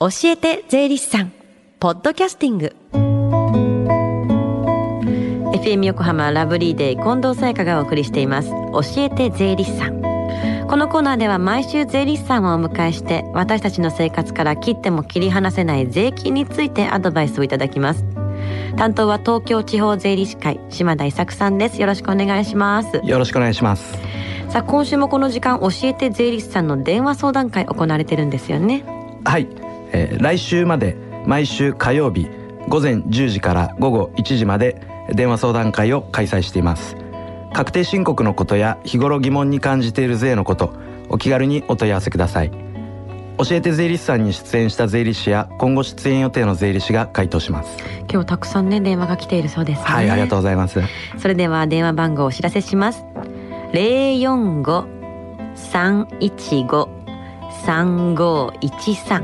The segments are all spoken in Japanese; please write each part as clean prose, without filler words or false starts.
教えて税理士さんポッドキャスティング FM 横浜ラブリーデイ近藤沙耶香がお送りしています教えて税理士さん。このコーナーでは毎週税理士さんをお迎えして私たちの生活から切っても切り離せない税金についてアドバイスをいただきます。担当は東京地方税理士会島田伊作さんです。よろしくお願いします。 よろしくお願いします。 さあ今週もこの時間教えて税理士さんの電話相談会行われてるんですよね。 はい、来週まで毎週火曜日午前10時から午後1時まで電話相談会を開催しています。確定申告のことや日頃疑問に感じている税のこと、お気軽にお問い合わせください。教えて税理士さんに出演した税理士や今後出演予定の税理士が回答します。 今日たくさんね電話が来ているそうですね。 はい、ありがとうございます。 それでは電話番号をお知らせします。 045-315-3513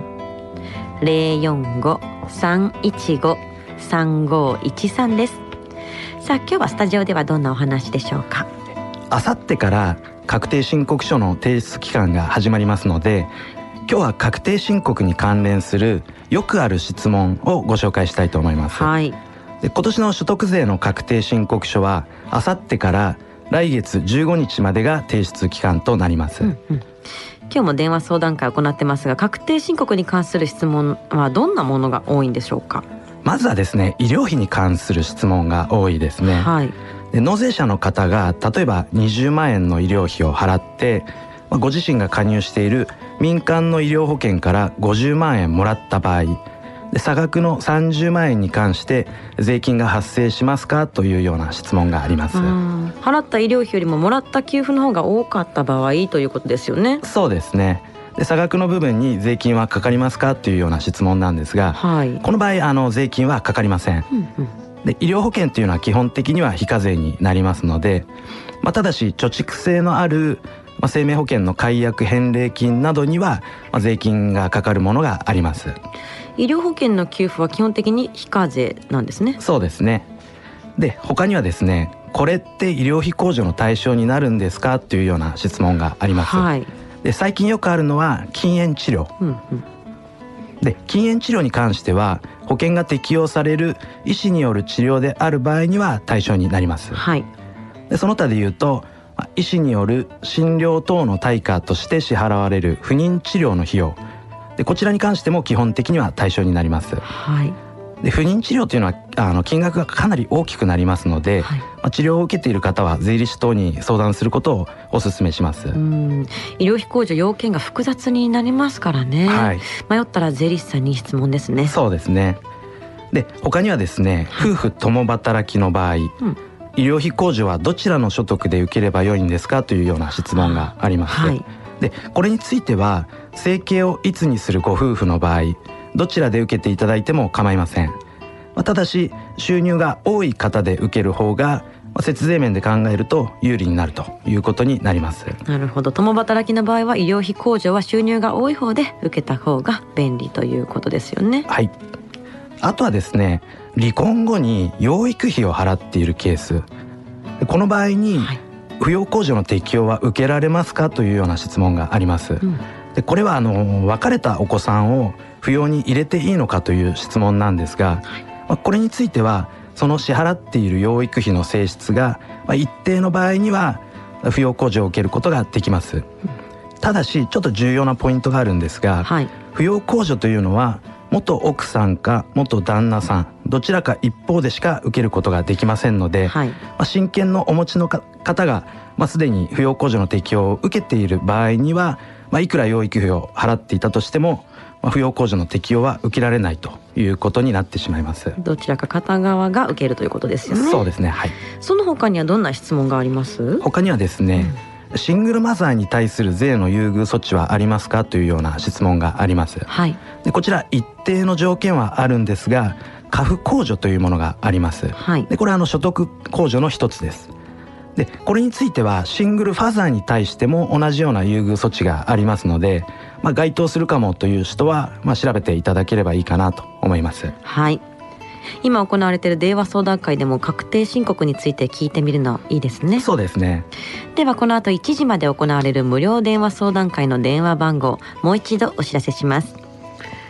045-315-3513 です。さあ今日はスタジオではどんなお話でしょうか。 あさってから確定申告書の提出期間が始まりますので、今日は確定申告に関連するよくある質問をご紹介したいと思います。 はい。 で今年の所得税の確定申告書はあさってから来月15日までが提出期間となります。 今日も電話相談会を行ってますが、確定申告に関する質問はどんなものが多いんでしょうか。 まずはですね、医療費に関する質問が多いですね。 はい。 で納税者の方が例えば20万円の医療費を払って、ご自身が加入している民間の医療保険から50万円もらった場合で、差額の30万円に関して税金が発生しますかというような質問があります。 払った医療費よりももらった給付の方が多かった場合ということですよね。 そうですね。で差額の部分に税金はかかりますかというような質問なんですが、 はい、 この場合税金はかかりません。で医療保険というのは基本的には非課税になりますので、ただし貯蓄性のある生命保険の解約返礼金などには税金がかかるものがあります。 医療保険の給付は基本的に非課税なんですね。 そうですね。で他にはですね、これって医療費控除の対象になるんですかというような質問があります。 はい。 で最近よくあるのは禁煙治療、で禁煙治療に関しては保険が適用される医師による治療である場合には対象になります。 はい。 でその他で言うと医師による診療等の対価として支払われる不妊治療の費用で、こちらに関しても基本的には対象になります。 はい。で不妊治療というのは金額がかなり大きくなりますので、はい、治療を受けている方は税理士等に相談することをお勧めします。 医療費控除要件が複雑になりますからね、はい、迷ったら税理士さんに質問ですね。 そうですね。で他にはですね、夫婦共働きの場合、医療費控除はどちらの所得で受ければよいんですかというような質問があります。はい、でこれについては生計をいつにするご夫婦の場合どちらで受けていただいても構いません。ただし収入が多い方で受ける方が節税面で考えると有利になるということになります。 なるほど。共働きの場合は医療費控除は収入が多い方で受けた方が便利ということですよね。 はい。あとはですね、離婚後に養育費を払っているケース、この場合に扶養控除の適用は受けられますかというような質問があります。でこれは別れたお子さんを扶養に入れていいのかという質問なんですが、これについてはその支払っている養育費の性質が一定の場合には扶養控除を受けることができます。ただしちょっと重要なポイントがあるんですが、扶養控除というのは元奥さんか元旦那さんどちらか一方でしか受けることができませんので、親権のお持ちの方がすでに扶養控除の適用を受けている場合にはいくら養育費を払っていたとしても扶養控除の適用は受けられないということになってしまいます。 どちらか片側が受けるということですよね。 そうですね。はい。 その他にはどんな質問があります？ 他にはですね、シングルマザーに対する税の優遇措置はありますかというような質問があります。はい。でこちら一定の条件はあるんですが家父控除というものがあります。はい。でこれは所得控除の一つです。でこれについてはシングルファザーに対しても同じような優遇措置がありますので、該当するかもという人は、調べていただければいいかなと思います。 はい。今行われている電話相談会でも確定申告について聞いてみるのいいですね。 そうですね。 ではこの後1時まで行われる無料電話相談会の電話番号もう一度お知らせします。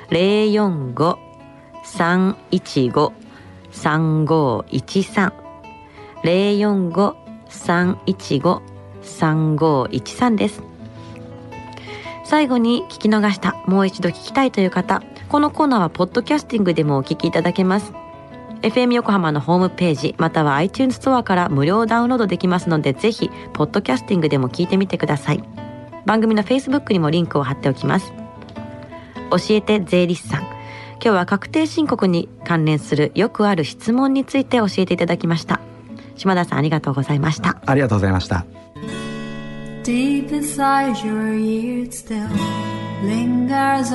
045-315-3513 045-315-3513です。最後に聞き逃した、もう一度聞きたいという方、このコーナーはポッドキャスティングでもお聞きいただけます。FM 横浜のホームページまたは iTunes ストアから無料ダウンロードできますので、ぜひポッドキャスティングでも聞いてみてください。番組の Facebook にもリンクを貼っておきます。教えて税理士さん、今日は確定申告に関連するよくある質問について教えていただきました。島田さん、ありがとうございました。 ありがとうございました。 Deep inside your ears still lingers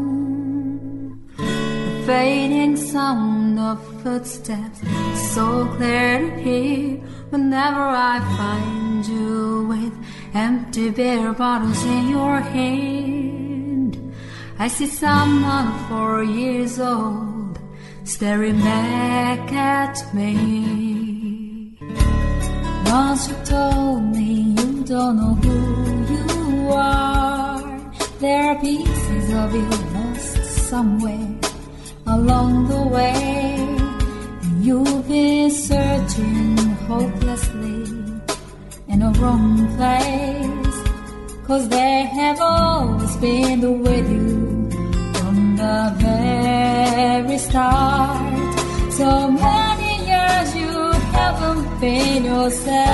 on the fading sound of footsteps, so clear to hear whenever I find you with empty beer bottles in your hand. I see someone 4 years old staring back at me. Once you told me you don't know who you are, there are pieces of you lost somewhere along the way, and you've been searching hopelessly in a wrong place, 'cause they have always been with you from the very start. So many years you haven't been yourself.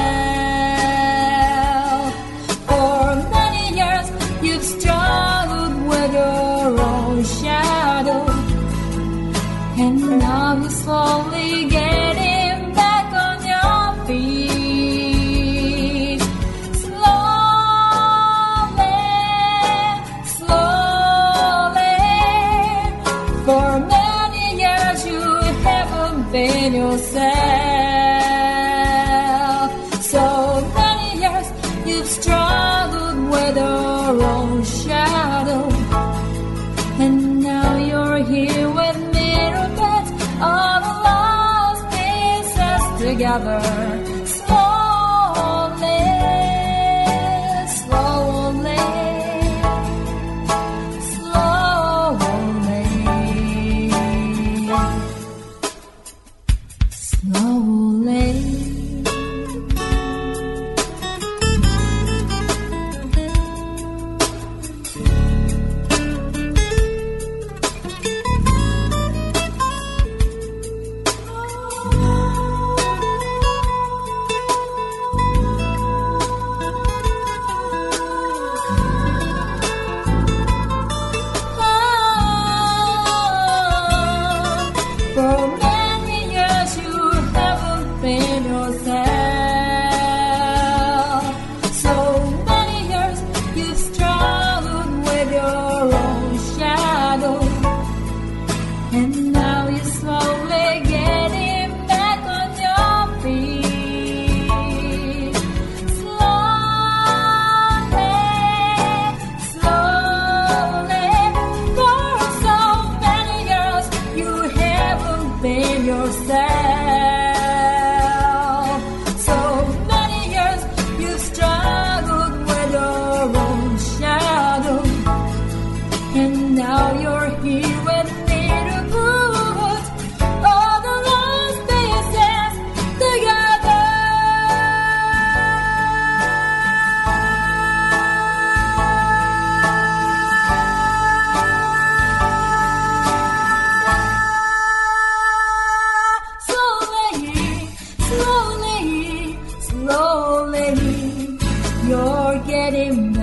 For many years you've struggled with your own shadow, and now you're slowly getting back on your feet. Slowly, slowly. For many years you haven't been yourself. So many years you've struggled with your own shadow, and now you're here with me, all the lost pieces together. Slowly, slowly, slowly, slowly. Slowly, you're getting